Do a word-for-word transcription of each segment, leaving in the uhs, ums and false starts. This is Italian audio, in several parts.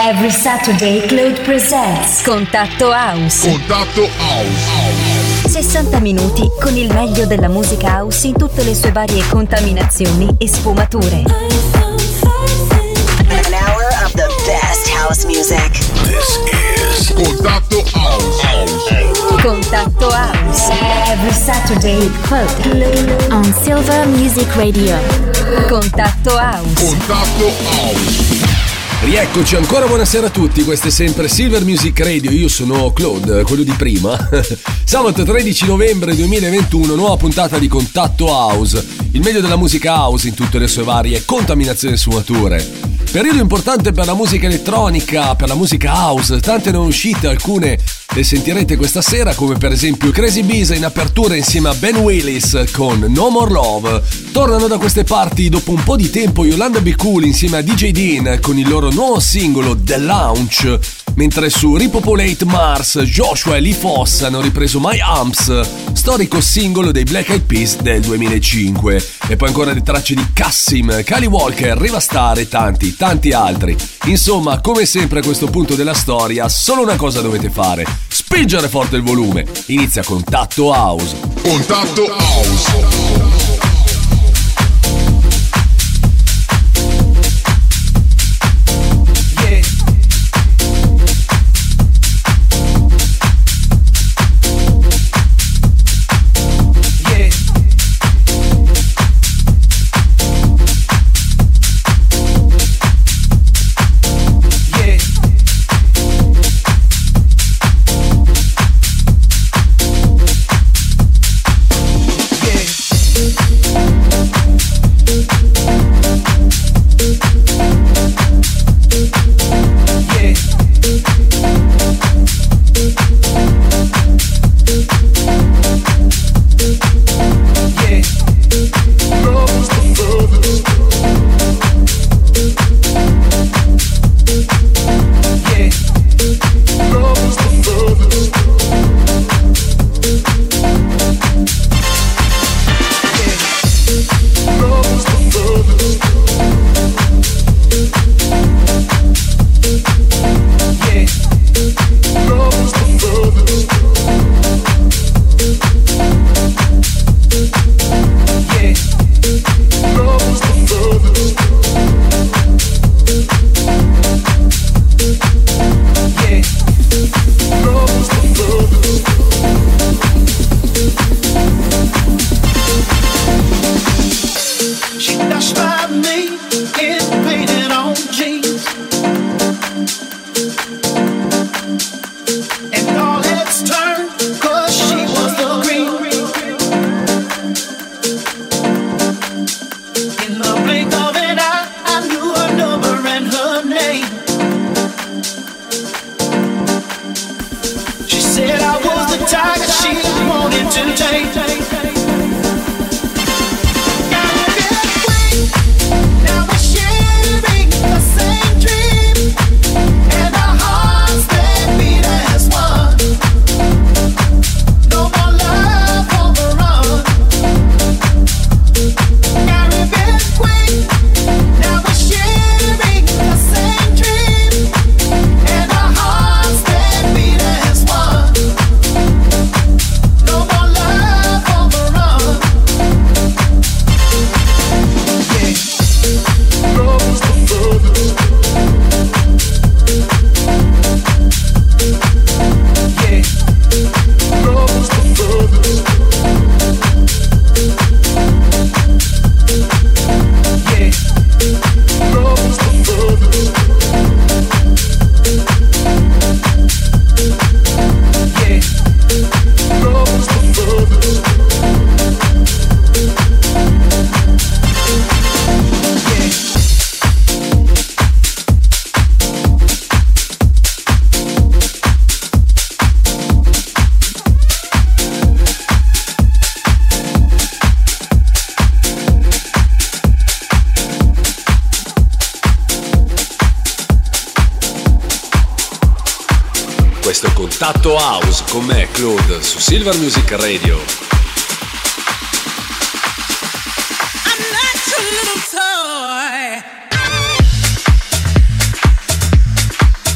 Every Saturday Claude presents Contatto House. Contatto House. sessanta minuti con il meglio della musica house in tutte le sue varie contaminazioni e sfumature. An hour of the best house music. This is Contatto House. Contatto House. Every Saturday Claude on Silver Music Radio. Contatto House. Contatto House. Rieccoci ancora, buonasera a tutti, questo è sempre Silver Music Radio, io sono Claude, quello di prima. Sabato tredici novembre duemilaventuno, nuova puntata di Contatto House, il meglio della musica house in tutte le sue varie contaminazioni e sfumature. Periodo importante per la musica elettronica, per la musica house, tante ne uscite, alcune le sentirete questa sera, come per esempio Crazy Bees in apertura insieme a Ben Willis con No More Love. Tornano da queste parti dopo un po' di tempo Yolanda Be Cool insieme a D J Dean con il loro nuovo singolo The Launch, mentre su Repopulate Mars Joshua e Lee Foss hanno ripreso My Amps, storico singolo dei Black Eyed Peas del duemilacinque. E poi ancora le tracce di Cassim, Kali Walker, Riva Starr e tanti, tanti altri. Insomma, come sempre a questo punto della storia, solo una cosa dovete fare: spingere forte il volume. Inizia Contatto House. Contatto House. Questo è Contatto House con me, Claude, su Silver Music Radio. I'm not your little toy.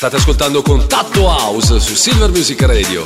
State ascoltando Contatto House su Silver Music Radio.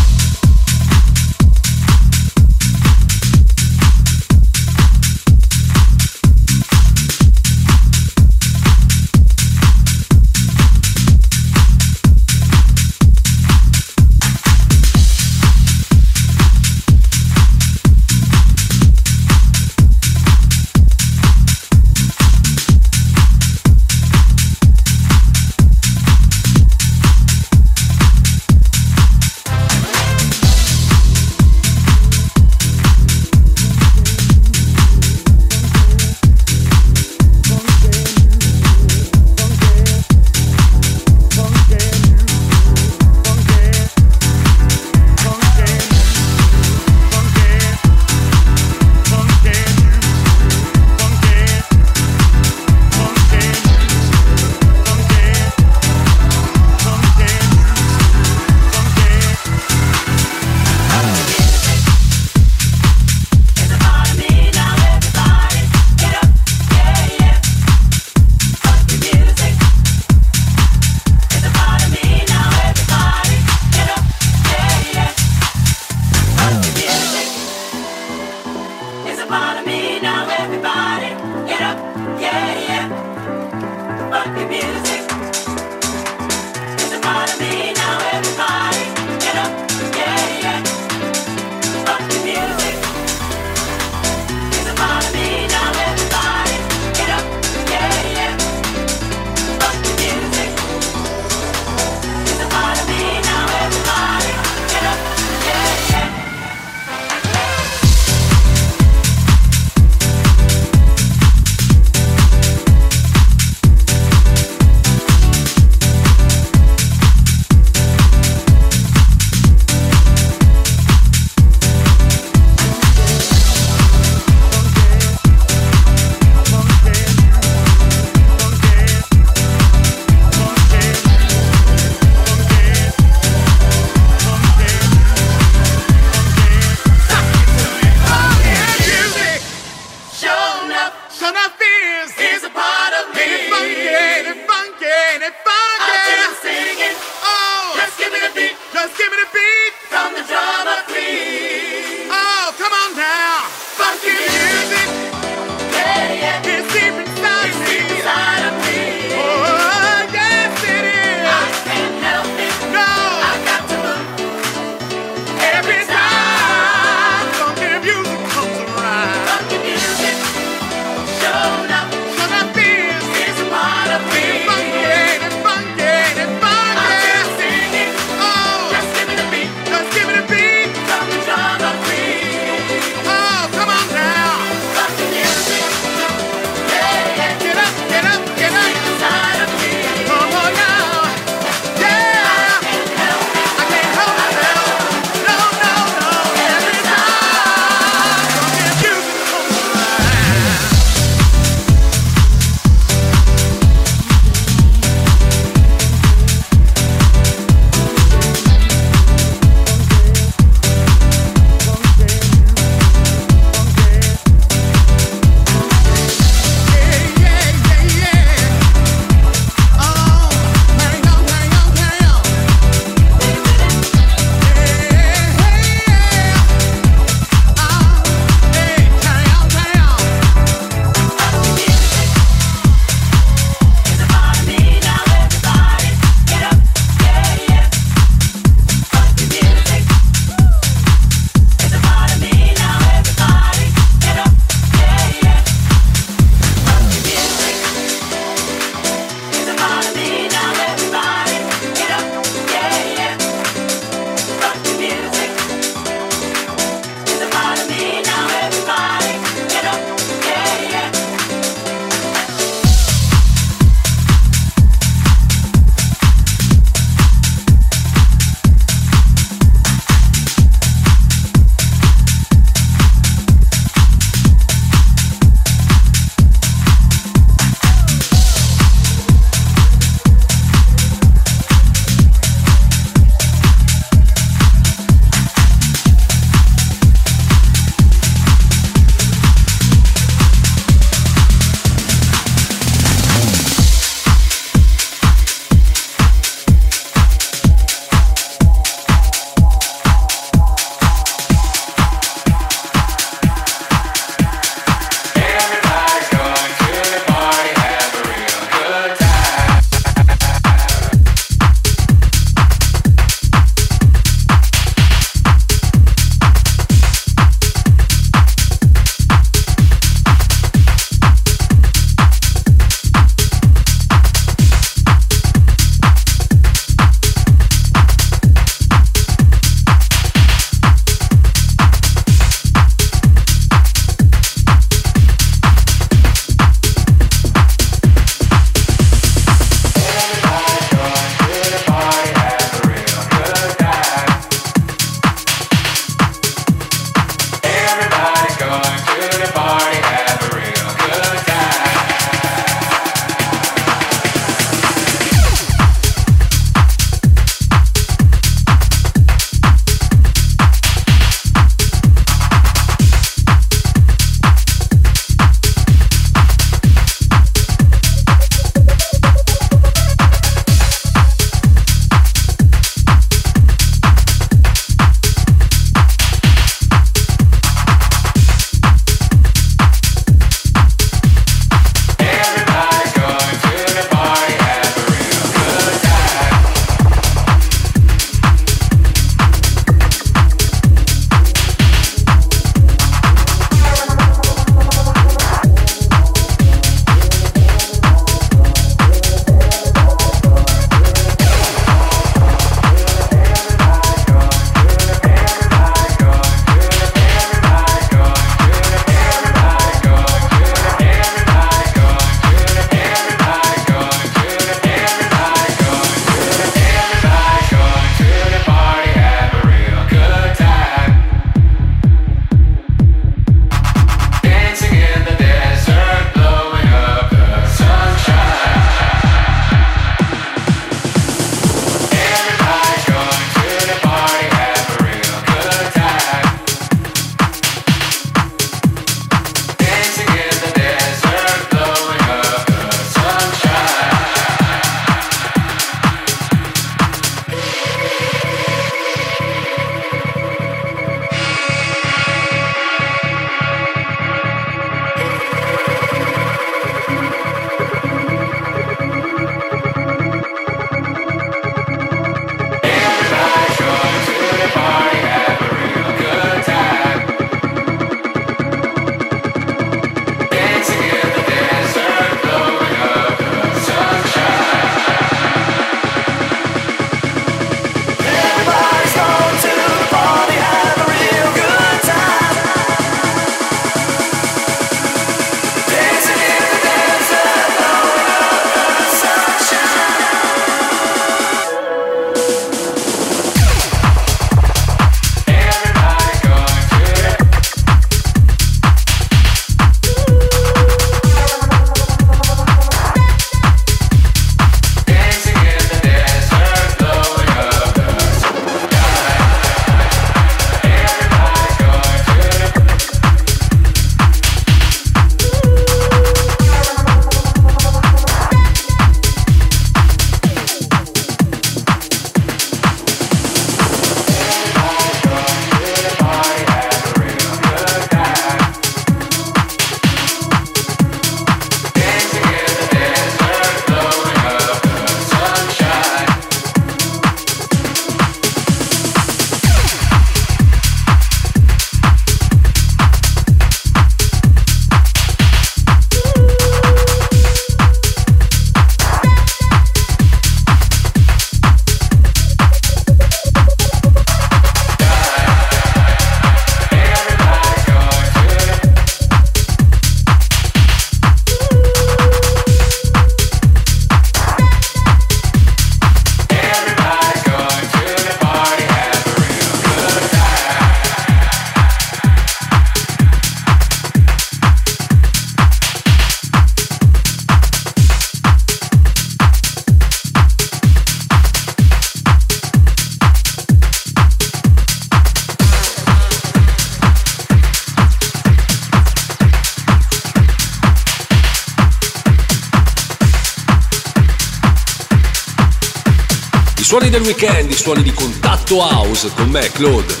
suoni del weekend, i suoni di Contatto House con me, Claude.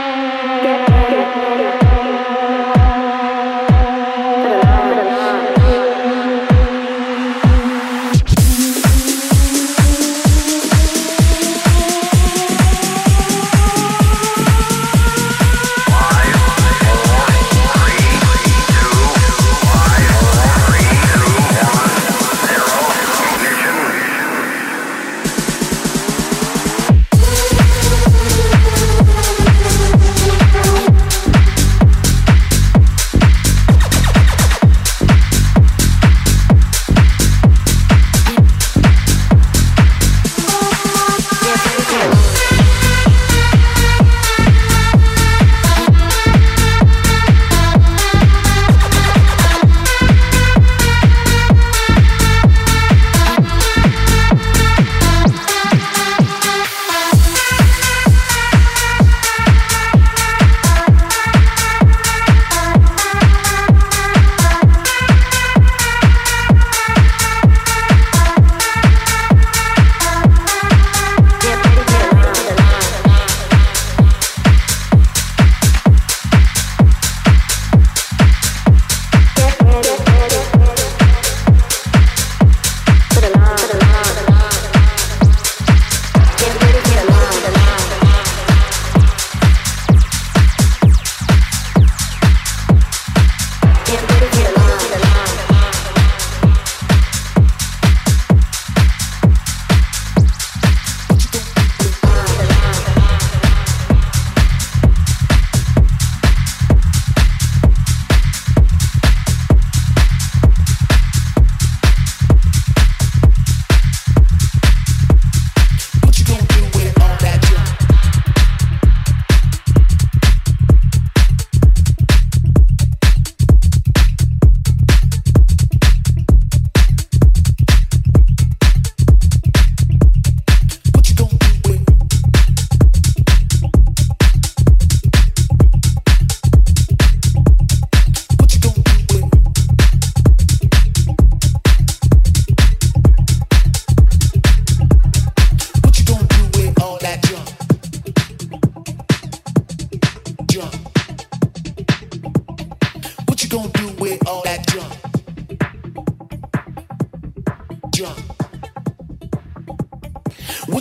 Get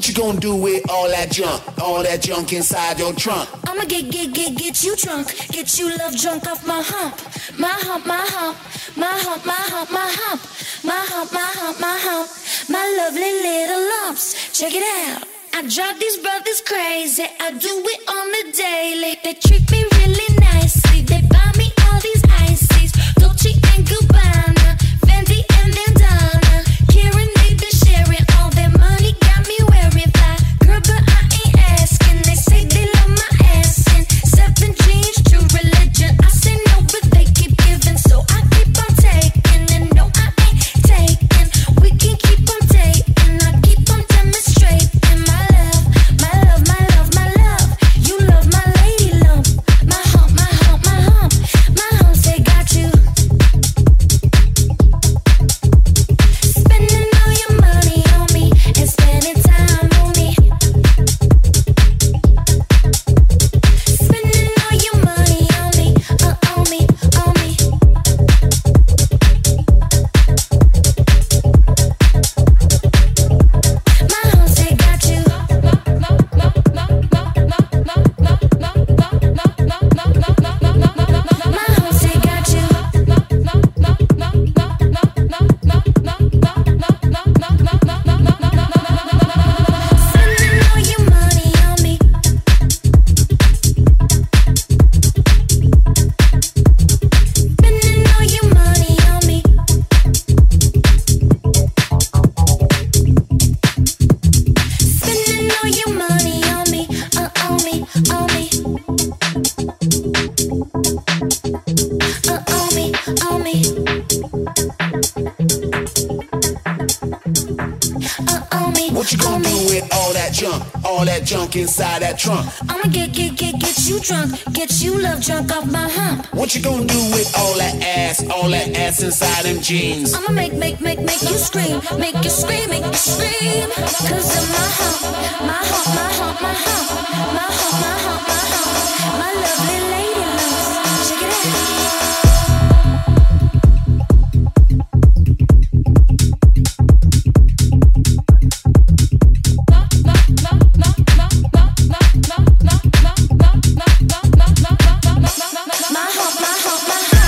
What you gonna do with all that junk, all that junk inside your trunk? I'ma get, get, get, get you drunk, get you love drunk off my hump, my hump, my hump, my hump, my hump, my hump, my hump, my hump, my hump, my lovely little lumps. Check it out. I drive these brothers crazy. I do it on the daily. They treat me really nicely. They buy me all these ices, Dolce and Gabbana, Fendi and Bandana, Karen, they been sharing all their money. Got me wearing fly, girl, but I ain't asking. They say they love my ass and seven jeans, true religion. I say no, but they keep giving, so I keep on taking. And no, I ain't taking. We can keep on dating. I keep on demonstrating my love, my love, my love, my love. You love my lady lump, my hump, my hump, my hump, my humps. They got you spending all your money on me and spending time on me. Spending all your money on me, uh, on me, on me. My humps, they got you. My humps, they got you. Spending all your money on me. Spending all your money on me. Spending all your money on me, uh, on me, on me. Uh, on me, on me. Uh, on me, What you on gonna me. do with all that junk, all that junk inside that trunk? I'ma get, get, get, get you drunk, get you love drunk off my hump. What you gonna do with all that ass, all that ass inside them jeans? I'ma make, make, make, make you scream, make you scream, make you scream. Cause of my hump, my hump, my hump, my hump, my hump, my hump, my hump, my lovely lady lumps. Check it out. My hump, my hump, my hump.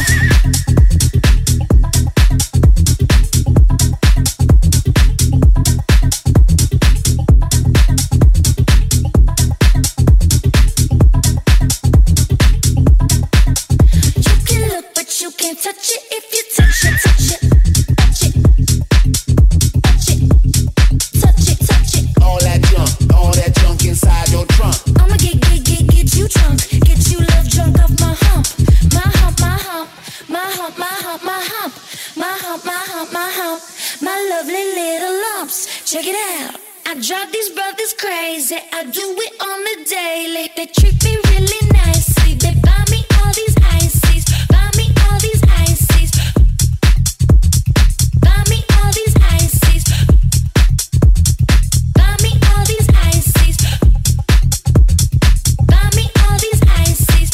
You can look, but you can't touch it. If you touch it, touch it, touch it, touch it, touch it, touch it. All that junk, all that junk inside your trunk. I'ma get, get, get, get you drunk, get you love drunk off my hump, my hump, my hump, my hump, my hump, my hump, my hump, my hump, my hump, my lovely little lumps. Check it out. I drive these brothers crazy. I do it on the daily. They treat me really nicely. They buy me all these ices, buy me all these ices, buy me all these ices, buy me all these ices, buy me all these ices.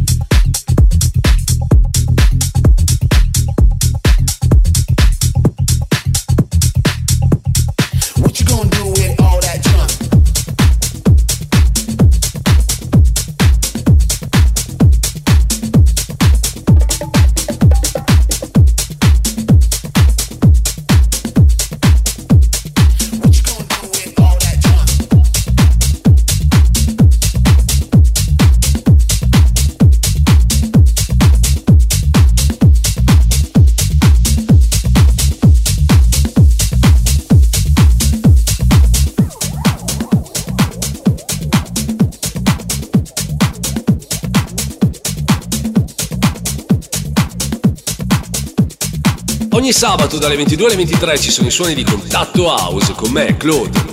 What you gonna do with all that junk? Ogni sabato dalle ventidue alle ventitré ci sono i suoni di Contatto House con me, Claude.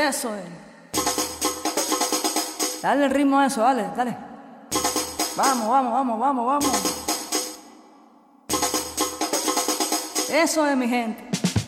Eso es. Dale el ritmo a eso, dale, dale. Vamos, vamos, vamos, vamos, vamos. Eso es, mi gente.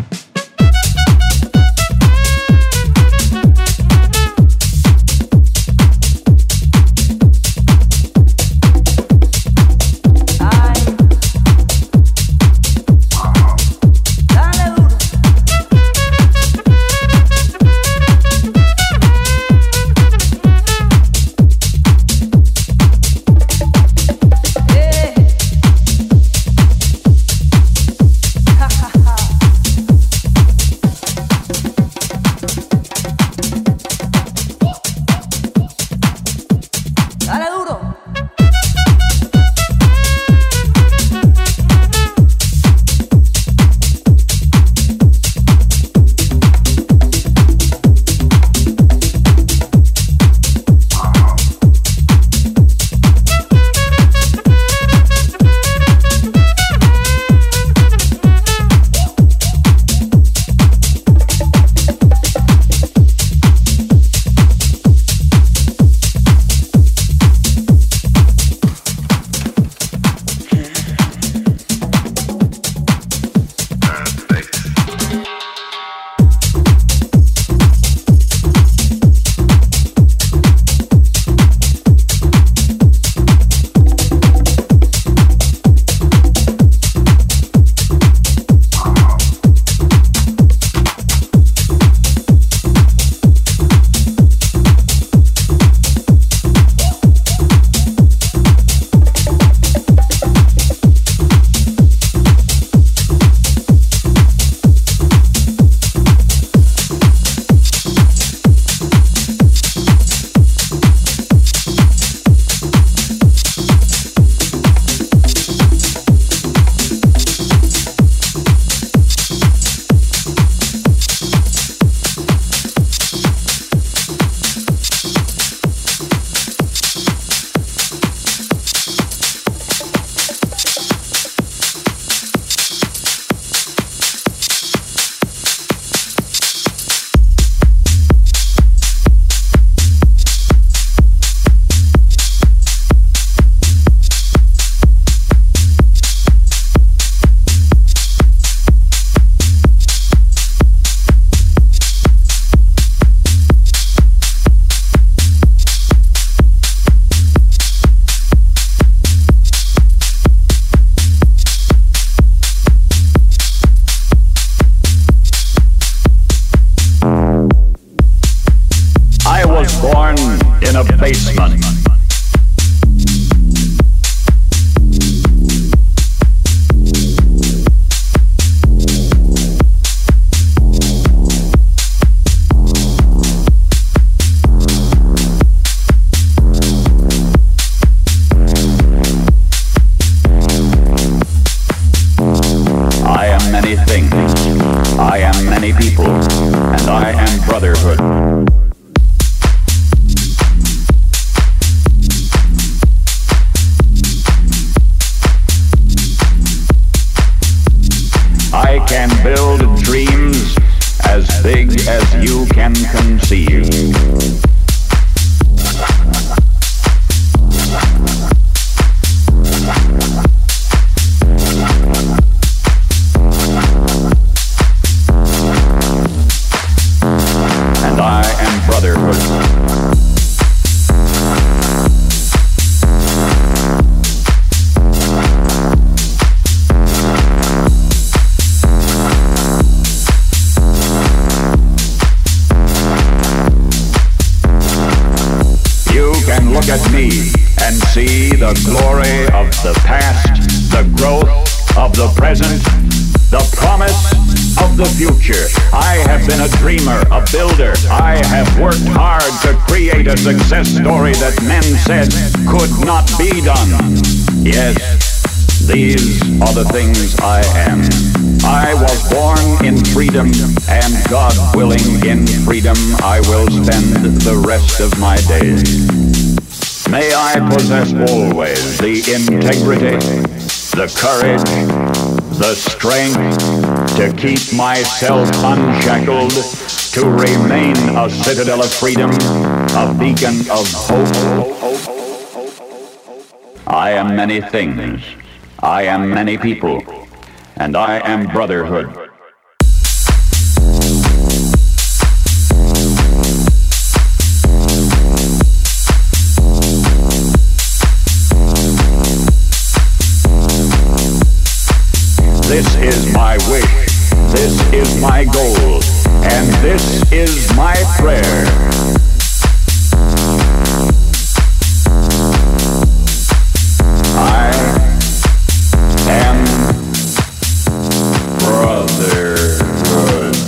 Success story that men said could not be done. Yes, these are the things I am. I was born in freedom, and God willing, in freedom I will spend the rest of my days. May I possess always the integrity, the courage, the strength to keep myself unshackled, to remain a citadel of freedom, a beacon of hope. I am many things. I am many people. And I am brotherhood. This is my wish, this is my goal, and this is my prayer. I am brotherhood.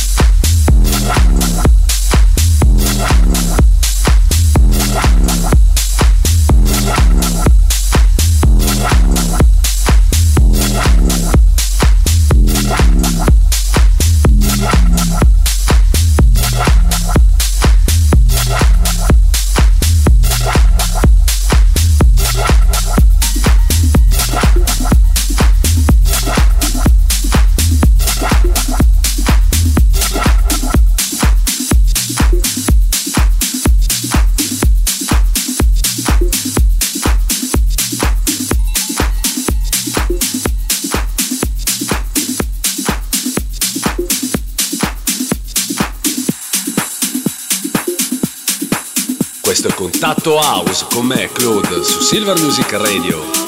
Questo è Contatto House con me, Claude, su Silver Music Radio.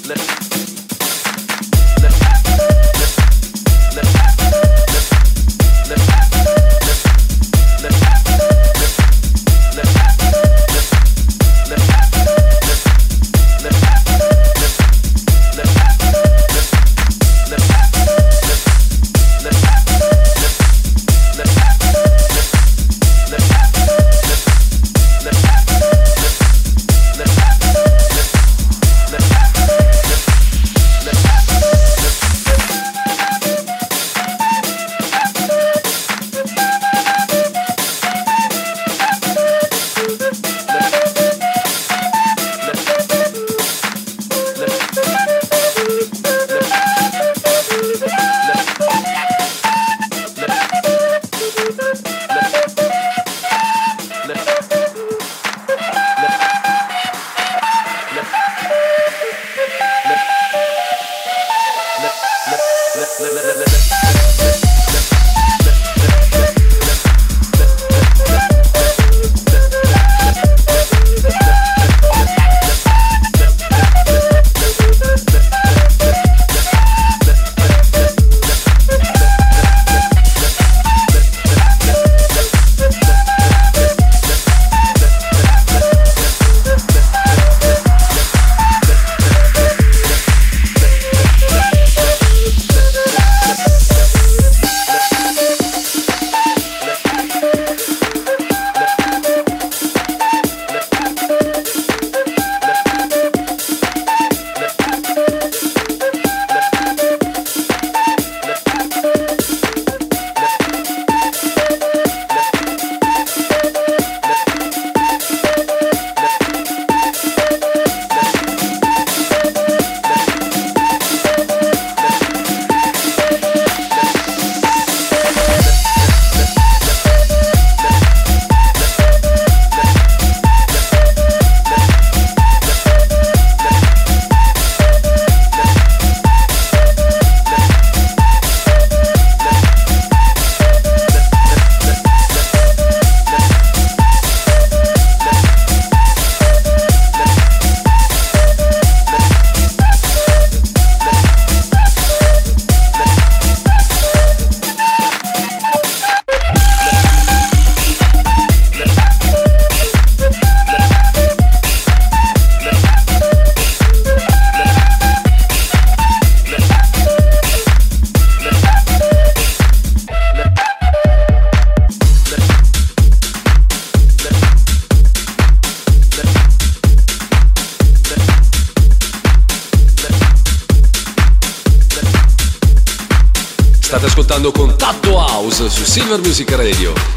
State ascoltando Contatto House su Silver Music Radio.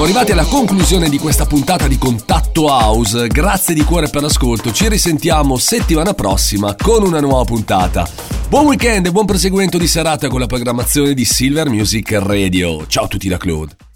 Siamo arrivati alla conclusione di questa puntata di Contatto House. Grazie di cuore per l'ascolto. Ci risentiamo settimana prossima con una nuova puntata. Buon weekend e buon proseguimento di serata con la programmazione di Silver Music Radio. Ciao a tutti da Claude.